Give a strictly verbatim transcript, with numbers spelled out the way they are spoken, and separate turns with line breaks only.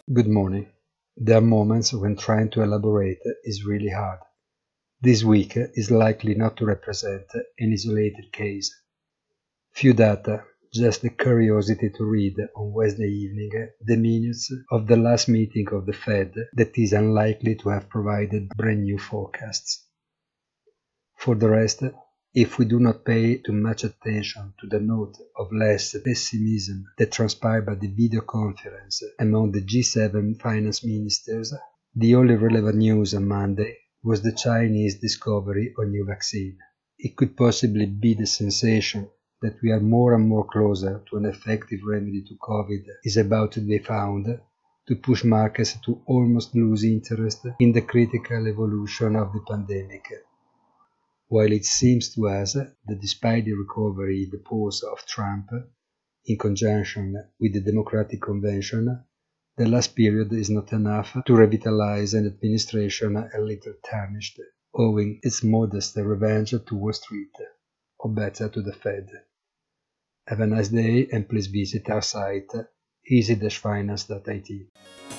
Good morning. There are moments when trying to elaborate is really hard. This week is likely not to represent an isolated case. Few data, just the curiosity to read on Wednesday evening the minutes of the last meeting of the Fed that is unlikely to have provided brand new forecasts. For the rest, if we do not pay too much attention to the note of less pessimism that transpired by the video conference among the G seven finance ministers, the only relevant news on Monday was the Chinese discovery of new vaccine. It could possibly be the sensation that we are more and more closer to an effective remedy to COVID is about to be found to push markets to almost lose interest in the critical evolution of the pandemic. While it seems to us that despite the recovery in the polls of Trump, in conjunction with the Democratic Convention, the last period is not enough to revitalize an administration a little tarnished, owing its modest revenge to Wall Street, or better to the Fed. Have a nice day and please visit our site easy dash finance dot I T.